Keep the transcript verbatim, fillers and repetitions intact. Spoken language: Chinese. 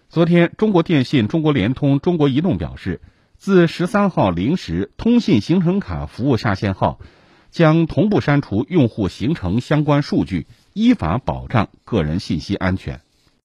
昨天，中国电信、中国联通、中国移动表示，自十三号零时，通信行程卡服务下线后，将同步删除用户行程相关数据，依法保障个人信息安全。